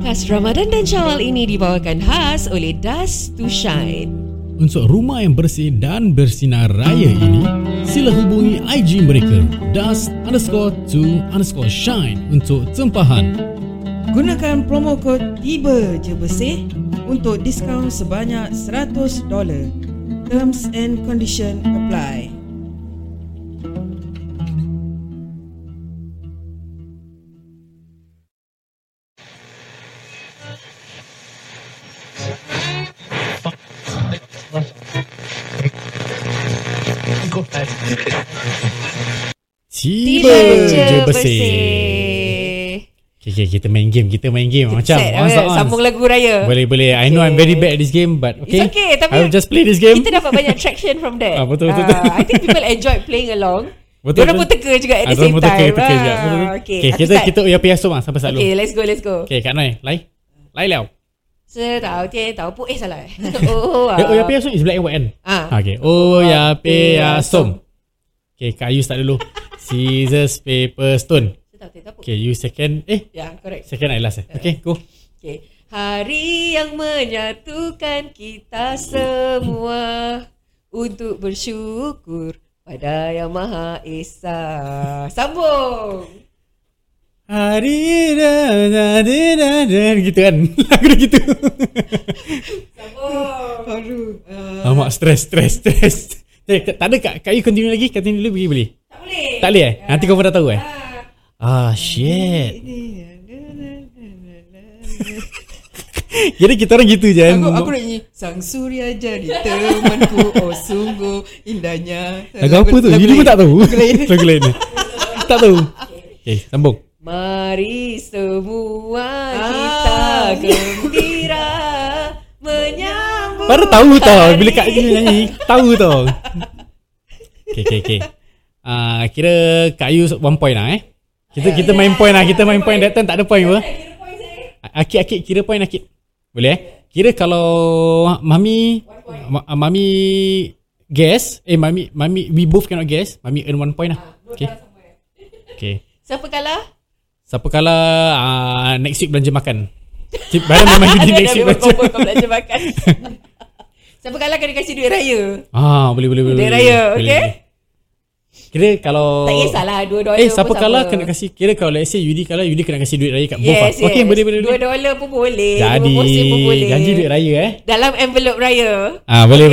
Khas Ramadan dan Syawal ini dibawakan khas oleh Dust to Shine. Untuk rumah yang bersih dan bersinar raya ini, sila hubungi IG mereka dust_to_shine untuk tempahan. Gunakan promo kod Tiba Je Bersih untuk diskaun sebanyak $100. Terms and condition apply. Tiba je bersih. Okay, kita main game. Macam sambung lagu raya. Boleh. I know I'm very bad at this game, but okay. It's okay, tapi I'll just play this game. Kita dapat banyak traction from that. Betul. I think people enjoy playing along. Betul. Diorang pun teka juga at the same time. Okay, kita Uya Piasum sampai selalu. Okay, let's go. Okay, Kak Noi, lai liao. Tahu pun salah. Uya Piasum is black and white kan? Okay, Uya Piasum. Okay, Kak Ayu start dulu. Scissors, paper, stone. Okay, you second. Ya, correct. Second I last. Okay, go. Okay. Hari yang menyatukan kita semua untuk bersyukur pada Yang Maha Esa. Sambung. Hari gitu kan. Lagu dia gitu. Sambung. Amak stres. Tak ada Kak Ayu continue dulu boleh? Tak boleh Nanti kau pun dah tahu shit. Jadi kita orang gitu je. Aku nak nyanyi Sang Surya jadi temanku, oh sungguh indahnya. Lagu apa tu? Jadi pun tak tahu. Lagu lain. Tak tahu. Okay, sambung. Mari semua kita gembira menyambut. Baru tahu tau bila Kak Ayu nyanyi. Tahu tau. Okay. Kira Kak Ayu 1 point lah Kita main point lah. Kita main point. That time tak ada point apa. Akid kira point Akid. Boleh Kira kalau Mami guess. Mami we both cannot guess. Mami earn 1 point lah. Okay. Siapa kalah? Next week belanja makan. Barang memang gini next week belanja makan. Siapa kalah kena kasih duit raya. Boleh. Duit raya, okay? Kira kalau tak kisahlah $2 siapa kalah kena kasih. Kira kalau let's say Yudi kalah, Yudi kena kasih duit raya kat both. Yes. Okay, boleh. $2 pun boleh. Jadi pun boleh. janji duit raya dalam envelope raya. Boleh.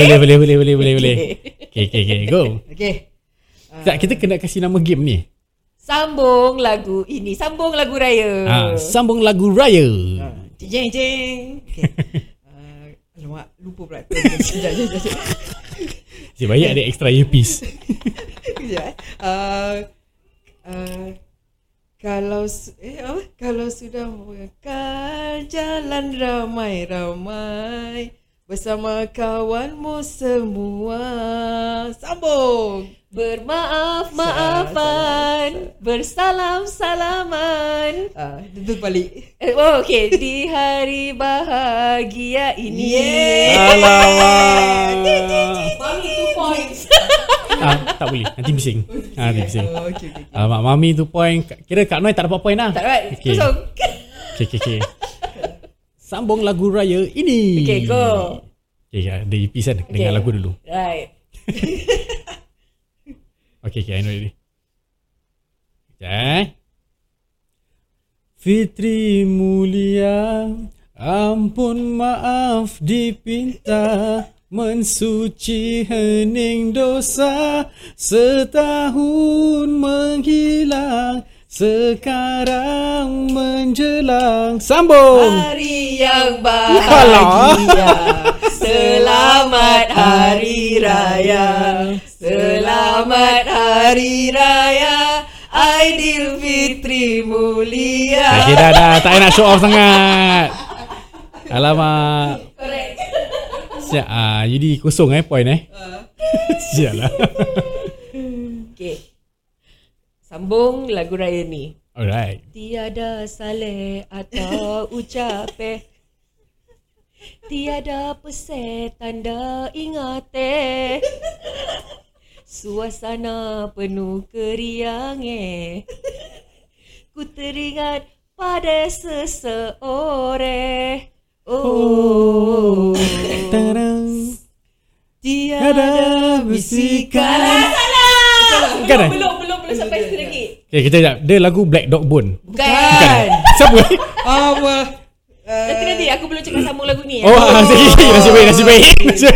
Okay, go. Okay. Tak, kita kena kasih nama game ni. Sambung lagu ini. Sambung lagu raya. Sambung lagu raya. Jeng. Okay. Alamak, lupa pula. Sekejap. Si banyak ada extra earpiece. Kalau sudah mengejar jalan ramai-ramai bersama kawanmu semua. Sambung. Bermaaf-maafan, bersalam-salaman. Itu balik. Okay. Di hari bahagia ini. Alamak. Mami 2 points. Tak boleh. Nanti bising. Okay. Mami 2 point. Kira Kak Noi tak dapat point lah. Tak dapat. Kosong. Okay. Sambung lagu raya ini. Okay, go. Okay, ada earpiece kan. Dengar lagu dulu. Right. Okay, I know already. Okay. Fitri mulia, ampun maaf dipinta, mensuci hening dosa, setahun menghilang, sekarang menjelang. Sambung. Hari yang bahagia, selamat hari raya, selamat hari raya, Aidilfitri mulia. Okay, dah. Tak nak show off sangat. Alamak. Correct. Siap. Jadi kosong point Siap lah. Okay. Sambung lagu raya ni. Alright. Tiada saleh atau ucap tiada peset tanda ingat suasana penuh keriang Ku teringat pada seseorang. Tarang. Tiada bisikan. Bukan Belum sampai situ lagi. Okay, kita sekejap. Dia lagu Black Dog Bone. Bukan. Siapa? Apa? Nanti aku belum cakap sambung lagu ni. Nasib baik.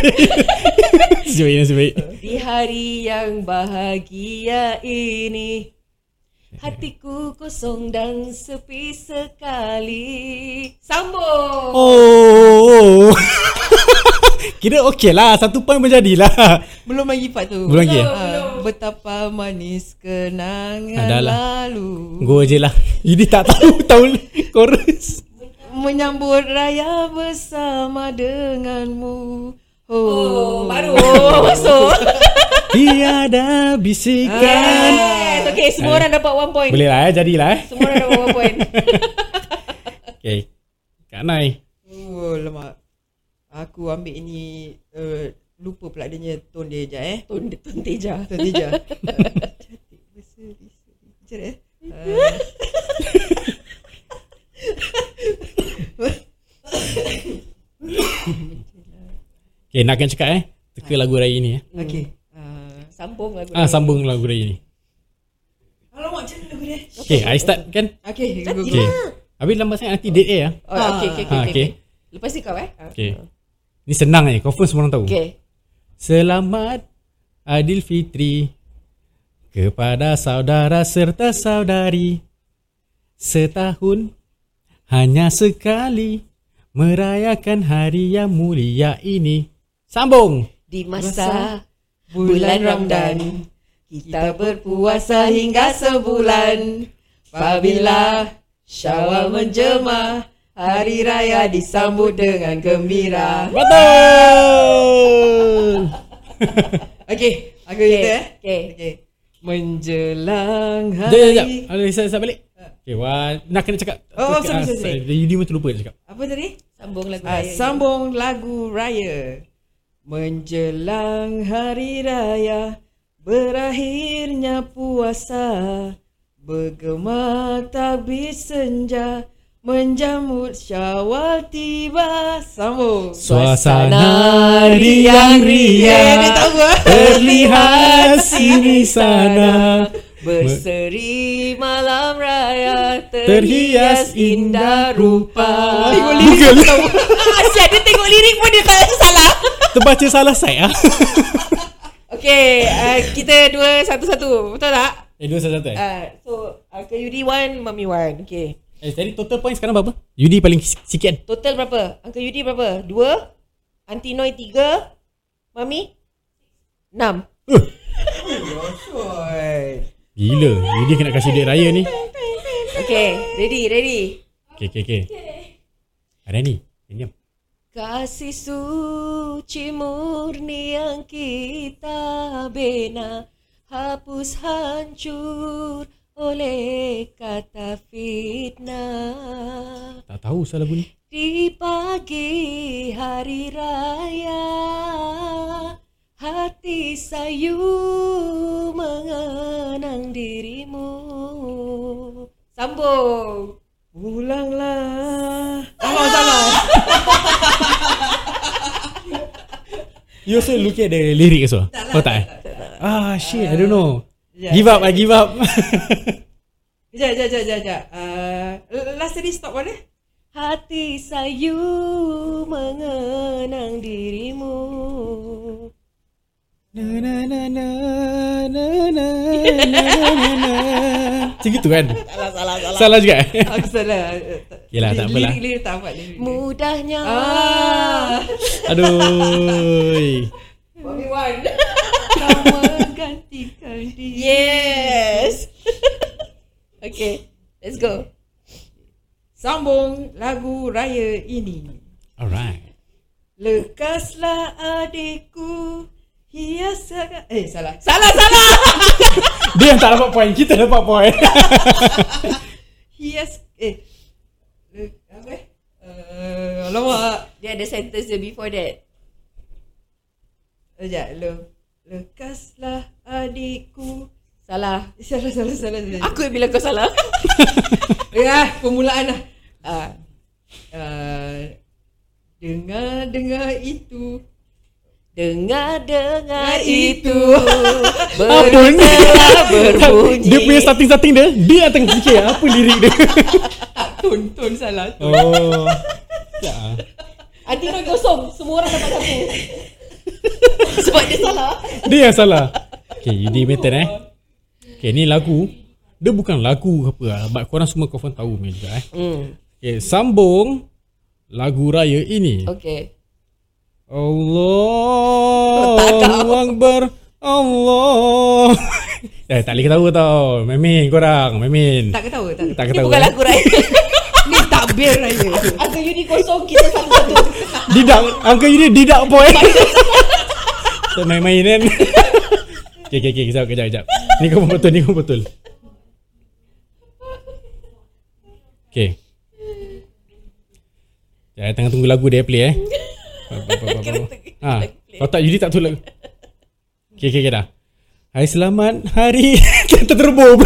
Di hari yang bahagia ini, hatiku kosong dan sepi sekali. Sambung. Oh. Kira okey lah. 1 point pun jadilah. Belum lagi part tu. Belum lagi Betapa manis kenangan Dah lah. lalu. Go je lah. Ini tak tahu chorus. Menyambut raya bersama denganmu. Baru masuk. Tiada bisikan. Yes. Okay, semua orang dapat 1 point. Boleh lah jadilah Semua orang dapat 1 point. Okay, Kak Nai. Oh, lemak. Aku ambil ini lupa pula adanya tone dia sekejap Tun Teja. Tone Teja. Cantik berseri-seri. Sekejap Okay, nak kena cakap teka lagu raya ni Okay. Sambung lagu. Sambung lagu raya ni. Alamak, macam mana lagu dia? Okay, I start kan. Okay, go. Okay. Habis lambat sangat nanti date ya. Okay. Lepas ni kau Okay. Ni senang je, confirm semua orang tahu. Okay. Selamat Aidilfitri kepada saudara serta saudari. Setahun hanya sekali merayakan hari yang mulia ini. Sambung. Di masa bulan Ramadan, kita berpuasa hingga sebulan. Apabila Syawal menjema, hari raya disambut dengan gembira. Betul. Okay, aku kita Okay. Menjelang Sekejap. hari. Saya balik. Okay, nak kena cakap. Sorry. Yudi pun terlupa dia cakap. Apa tadi? Sambung lagu raya. Sambung lagu raya. Menjelang hari raya, berakhirnya puasa, bergema takbir senja, menjamut Syawal tiba. Sambung. Suasana riang-riang terlihat sini sana, berseri malam raya, terhias indah rupa. Tengok lirik Bukan. Asyik dia tengok lirik pun dia tak salah. Terbaca salah saya. Okay, kita dua satu-satu. Betul tak? Dua satu. So, Uncle Yudi 1, Mami 1. Okay. Jadi total point sekarang berapa? Yudi paling sikit. Total berapa? Uncle Yudi berapa? 2, Aunty Noi 3, Mami 6. Gila, Yudi kena kasih duit raya ni. Okay, ready. Okay. Ada ni. Diam. Kasih suci murni yang kita bina, hapus hancur oleh kata fitnah. Tak tahu salah lagu ni. Di pagi hari raya, hati sayu mengenang dirimu. Sambung. Pulanglah. Salah. You also look at the lyric also? Tak. Shit, I don't know. Give up. Sekejap. Last tadi stop mana? Hati sayu mengenang dirimu. Macam gitu kan? Salah. Salah juga. Aku salah. Yelah, tak apalah. Lirik tak apa lirik. Mudahnya. Aduh. Mami 1. Kau menggantikan diri. Yes. Okay, let's go. Sambung lagu raya ini. Alright. Lekaslah adikku, hias salah. Dia yang tak dapat point, kita dapat point. Hias alamak. Dia ada sentence dia before that. Sekejap. Lekaslah adikku Salah. Salah. Aku yang bilang kau salah. Ya, permulaan lah. Ah, Dengar itu. dengar itu Apa ni? telah berbunyi. Dia punya starting dia tengah fikir apa lirik dia. Ton salah. Oh. Ya. Antino kosong. Semua orang dapat satu. Sebab dia salah. Dia yang salah. Okay, Yudi Metin Okay, ni lagu. Dia bukan lagu apa lah, but korang semua confirm tahu punya juga Okay, sambung lagu raya ini. Okay. Allahu Akbar. Allah. Tak boleh ketawa tau. Memin korang, Memin. Tak ketawa. Tak Ini ketawa. bukan lagu raya. Ni takbir raya. Uncle Yudi kosong. Kita satu-satu. Didak, Uncle Yudi didak boy. So main-main kan. Okay, kejap. Ni kau betul. Okay. Jangan tengah tunggu lagu dia play Kalau tak Yudi tak tahu lagu. Okay dah. Hai selamat hari. Kita terbom.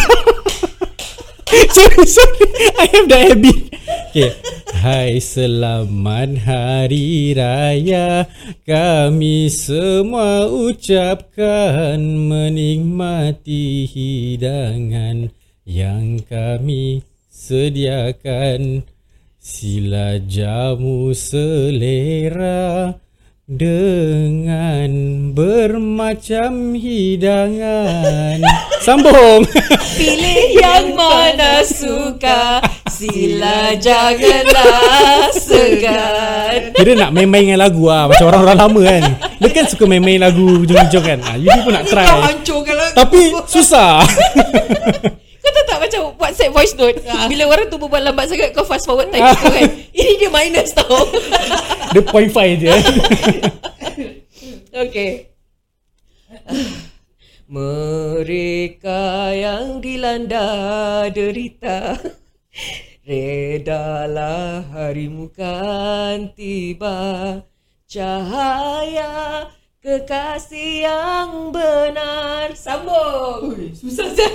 Sorry I have the habit. Okay. Hai selamat hari raya, kami semua ucapkan menikmati hidangan yang kami sediakan. Sila jamu selera dengan bermacam hidangan. Sambung. Pilih yang mana suka. Sila janganlah segan. Kira nak main-main dengan lagu macam orang-orang lama kan. Dia kan suka main-main lagu hujung-hujung kan. Yudi pun nak try. Kau hancurkan lagu. Tapi susah. Kau tahu tak macam WhatsApp voice note, bila orang tu berbual lambat sangat, kau fast forward time tu kan. Ini dia minus tau. Dia 0.5 je. Okay. Mereka yang dilanda derita, redalah harimu kan tiba. Cahaya kekasih yang benar. Sambung. Susah saya.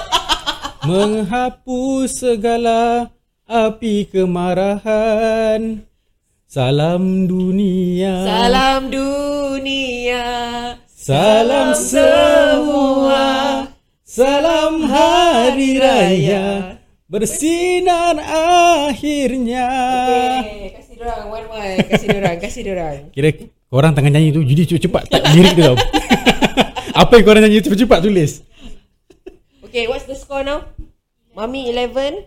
Menghapus segala api kemarahan. Salam dunia. Salam dunia. Salam semua. Salam hari raya. Bersinar akhirnya. Okay, kasih dorang one. Kasih dorang. Kira korang tengah nyanyi tu, Judi cepat type lirik tu tau. Apa yang korang nyanyi cepat tulis. Okay, what's the score now? Mami 11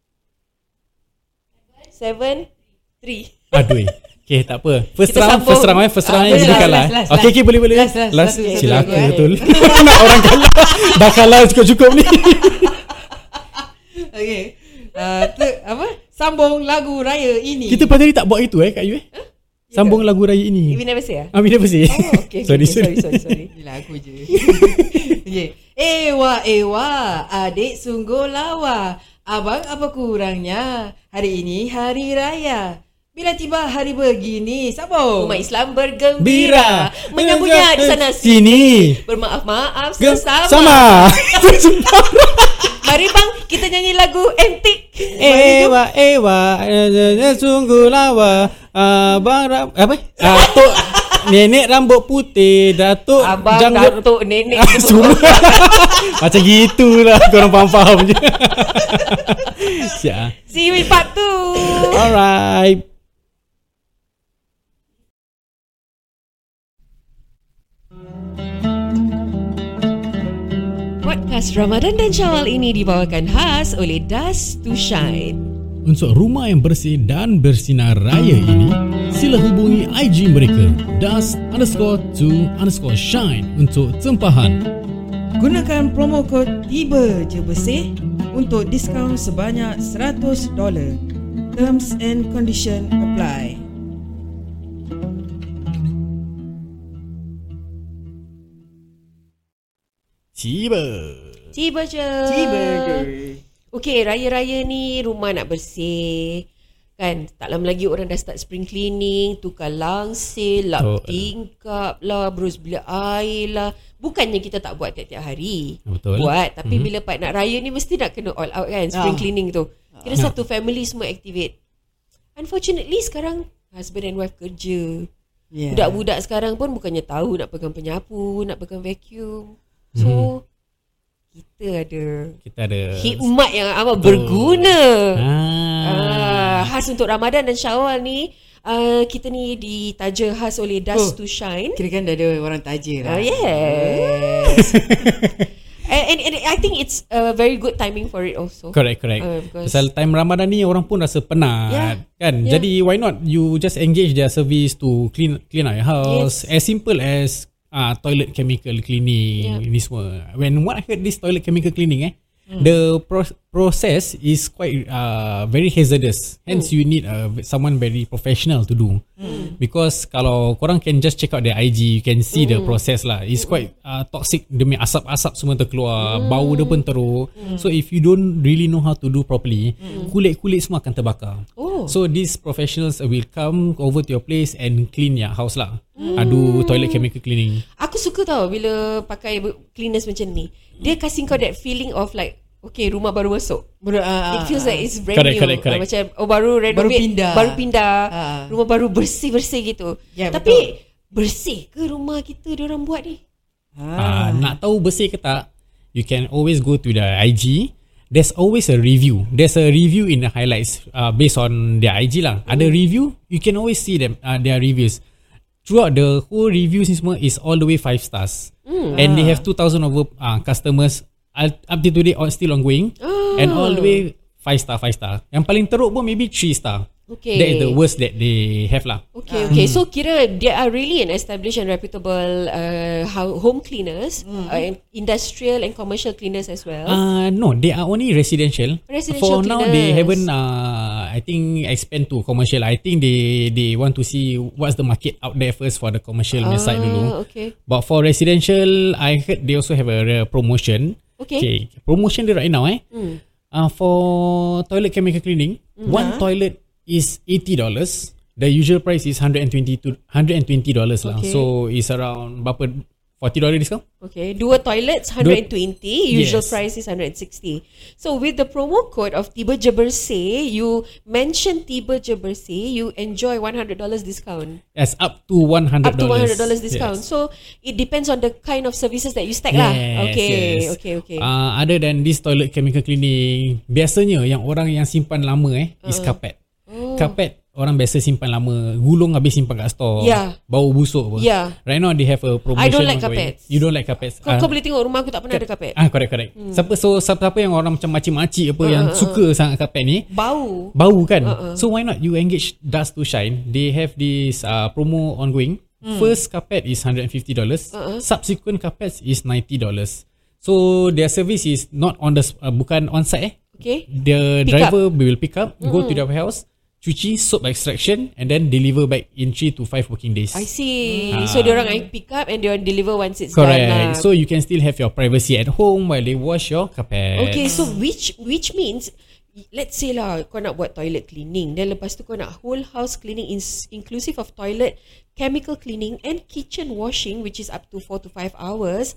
7 3. Aduh. Okay, tak apa. First Kita round sambung. First round yang last, Judi kalah. last. Okay, boleh. Last. Cilaka Okay. betul. Nak orang kalah. Dah kalah cukup ni. Okay. Apa? Sambung lagu raya ini. Kita pada hari tak buat itu Kak Yu Sambung lagu raya ini. We never say Amin apa sih? Oh, okay. Sorry. Gila aku je. Okay. Ewa, adik sungguh lawa. Abang apa kurangnya? Hari ini hari raya. Bila tiba hari begini, sambung. Umat Islam bergembira, menyambutnya di sana sini. Bermaaf-maaf Sama. sesama. Mari bang, kita nyanyi lagu antik. Ewa, sungguh lawa. Abang apa? Datuk nenek rambut putih, Datuk Abang, janggut datuk, nenek semua. Macam gitulah, korang faham je. Siap. See you in part 2. Alright. Podcast Ramadan dan Syawal ini dibawakan khas oleh Dust to Shine. Untuk rumah yang bersih dan bersinar raya ini, sila hubungi IG mereka dust_to_shine untuk tempahan. Gunakan promo kod Tiba Je Bersih untuk diskaun sebanyak $100. Terms and condition apply. Tiba Tiba je. Tiba je. Okey, raya-raya ni rumah nak bersih, Kan, tak lama lagi orang dah start spring cleaning, tukar langsir, lap tingkap lah, berus bilik air lah. Bukannya kita tak buat tiap-tiap hari. Betul. Buat, tapi bila part nak raya ni mesti nak kena all out kan, spring cleaning tu. Kira satu family semua activate. Unfortunately sekarang husband and wife kerja. Budak-budak sekarang pun bukannya tahu nak pegang penyapu, nak pegang vacuum. So kita ada hikmat yang amat berguna. Khas untuk Ramadan dan Syawal ni. Kita ni ditaja khas oleh Dust to Shine. Kira kan dah ada orang taja lah. Yes. And I think it's a very good timing for it also. Correct. Pasal time Ramadan ni orang pun rasa penat, kan? Jadi why not you just engage their service to clean out your house. As simple as toilet chemical cleaning ni semua. When what I heard this toilet chemical cleaning the process is quite very hazardous. Hence you need someone very professional to do. Because kalau korang can just check out their IG, you can see the process lah. It's quite toxic. Demi asap-asap semua terkeluar, bau dia pun teruk. So if you don't really know how to do properly, kulit-kulit semua akan terbakar. So these professionals will come over to your place and clean your house lah. Do toilet chemical cleaning. Aku suka tau bila pakai cleaners macam ni. Dia kasih kau that feeling of like, okay, rumah baru masuk. It feels like it's brand new. Correct. Macam baru renovate, baru pindah. Rumah baru bersih-bersih gitu. Tapi bersih ke rumah kita diorang buat ni? Nak tahu bersih ke tak, you can always go to the IG. There's always a review. There's a review in the highlights based on their IG lah. Ada review, you can always see them their reviews. Throughout the whole reviews ni semua is all the way 5 stars. And they have 2,000 over customers. Up to today still ongoing. And all the way 5 star. Yang paling teruk pun maybe 3 star. Okay. That is the worst that they have lah. Okay. So kira they are really an established and reputable home cleaners, industrial and commercial cleaners as well. No, they are only residential. For cleaners. now, they haven't. I think expand to commercial. I think they want to see what's the market out there first for the commercial side dulu. Okay. But for residential, I heard they also have a promotion. Okay. Promotion dia right now for toilet chemical cleaning, one toilet is $80. The usual price is $120 lah. So it's around berapa, $40 discount? Okay, 2 toilets 120, usual price is 160. So with the promo code of Tiba Je Bersih, you mention Tiba Je Bersih, you enjoy $100 discount. Yes, up to $100. Up to $100 discount. Yes. So it depends on the kind of services that you stack lah. Okay. Other than this toilet chemical cleaning, biasanya yang orang yang simpan lama is carpet. Carpet orang biasa simpan lama, gulung habis simpan kat store, bau busuk apa. Right now they have a promotion. I don't like carpets. You don't like carpets. Kau boleh tengok rumah aku tak pernah ada carpet. Correct. Siapa yang orang macam makcik-makcik apa yang suka sangat carpet ni, bau kan. So why not you engage Dust to Shine? They have this promo ongoing. First carpet is $150. Subsequent carpets is $90. So their service is not on the bukan on site. Okay. The driver will pick up, go to their house, cuci, soap extraction, and then deliver back in 3 to 5 working days. I see. So diorang pick up and diorang deliver once it's done. Correct. So you can still have your privacy at home while they wash your carpet. Okay, so which means, let's say lah kau nak buat toilet cleaning, then lepas tu kau nak whole house cleaning inclusive of toilet, chemical cleaning and kitchen washing, which is up to 4 to 5 hours.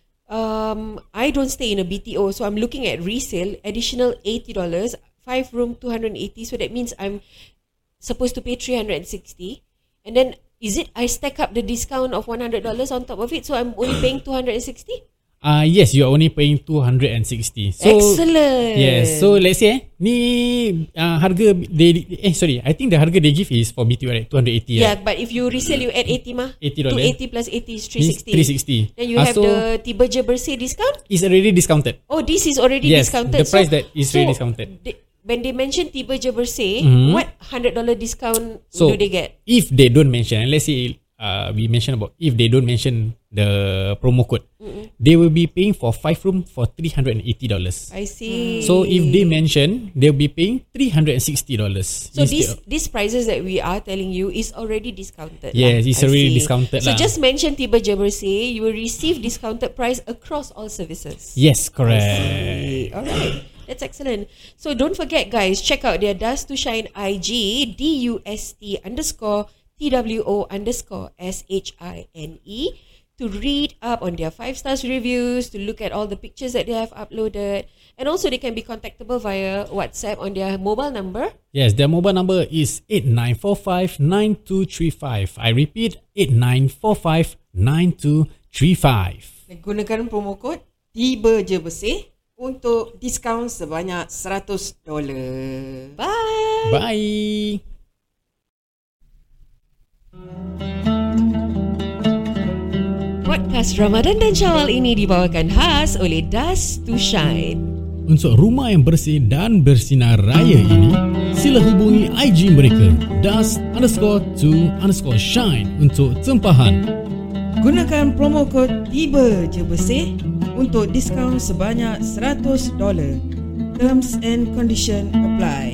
I don't stay in a BTO, so I'm looking at resale, additional $80, 5 room 280, so that means I'm supposed to pay $360. And then is it I stack up the discount of $100 on top of it, so I'm only paying $260? Yes, you are only paying $260. So, excellent. Yes, so let's say ni harga I think the harga they give is for BTO right, 280. Yeah, but if you resell, you add 80 mah. $80. 280 plus 80 is 360. 360. Then you have the Tiba Je Bersih discount? It's already discounted. Oh, this is already discounted. The price that is already discounted. When they mention Tiba Je Bersih, what $100 discount do they get? If they don't mention, let's say we mentioned about if they don't mention the promo code, they will be paying for 5 room for $380. I see. So if they mention, they'll be paying $360. So these prices that we are telling you is already discounted. Yes, it's already discounted. So just mention Tiba Je Bersih, you will receive discounted price across all services. Yes, correct. Alright. That's excellent. So don't forget, guys, check out their Dust to Shine IG, DUST_TWO_SHINE, to read up on their 5 stars reviews, to look at all the pictures that they have uploaded, and also they can be contactable via WhatsApp on their mobile number. Yes, their mobile number is 8945-9235. I repeat, 8945-9235. Gunakan promo code Tiba Je Bersih untuk diskaun sebanyak $100. Bye! Bye! Podcast Ramadan dan Syawal ini dibawakan khas oleh Dust to Shine. Untuk rumah yang bersih dan bersinar raya ini, sila hubungi IG mereka dust_to_shine untuk tempahan. Gunakan promo kod Tiba Je Bersih untuk diskaun sebanyak $100. Terms and condition apply.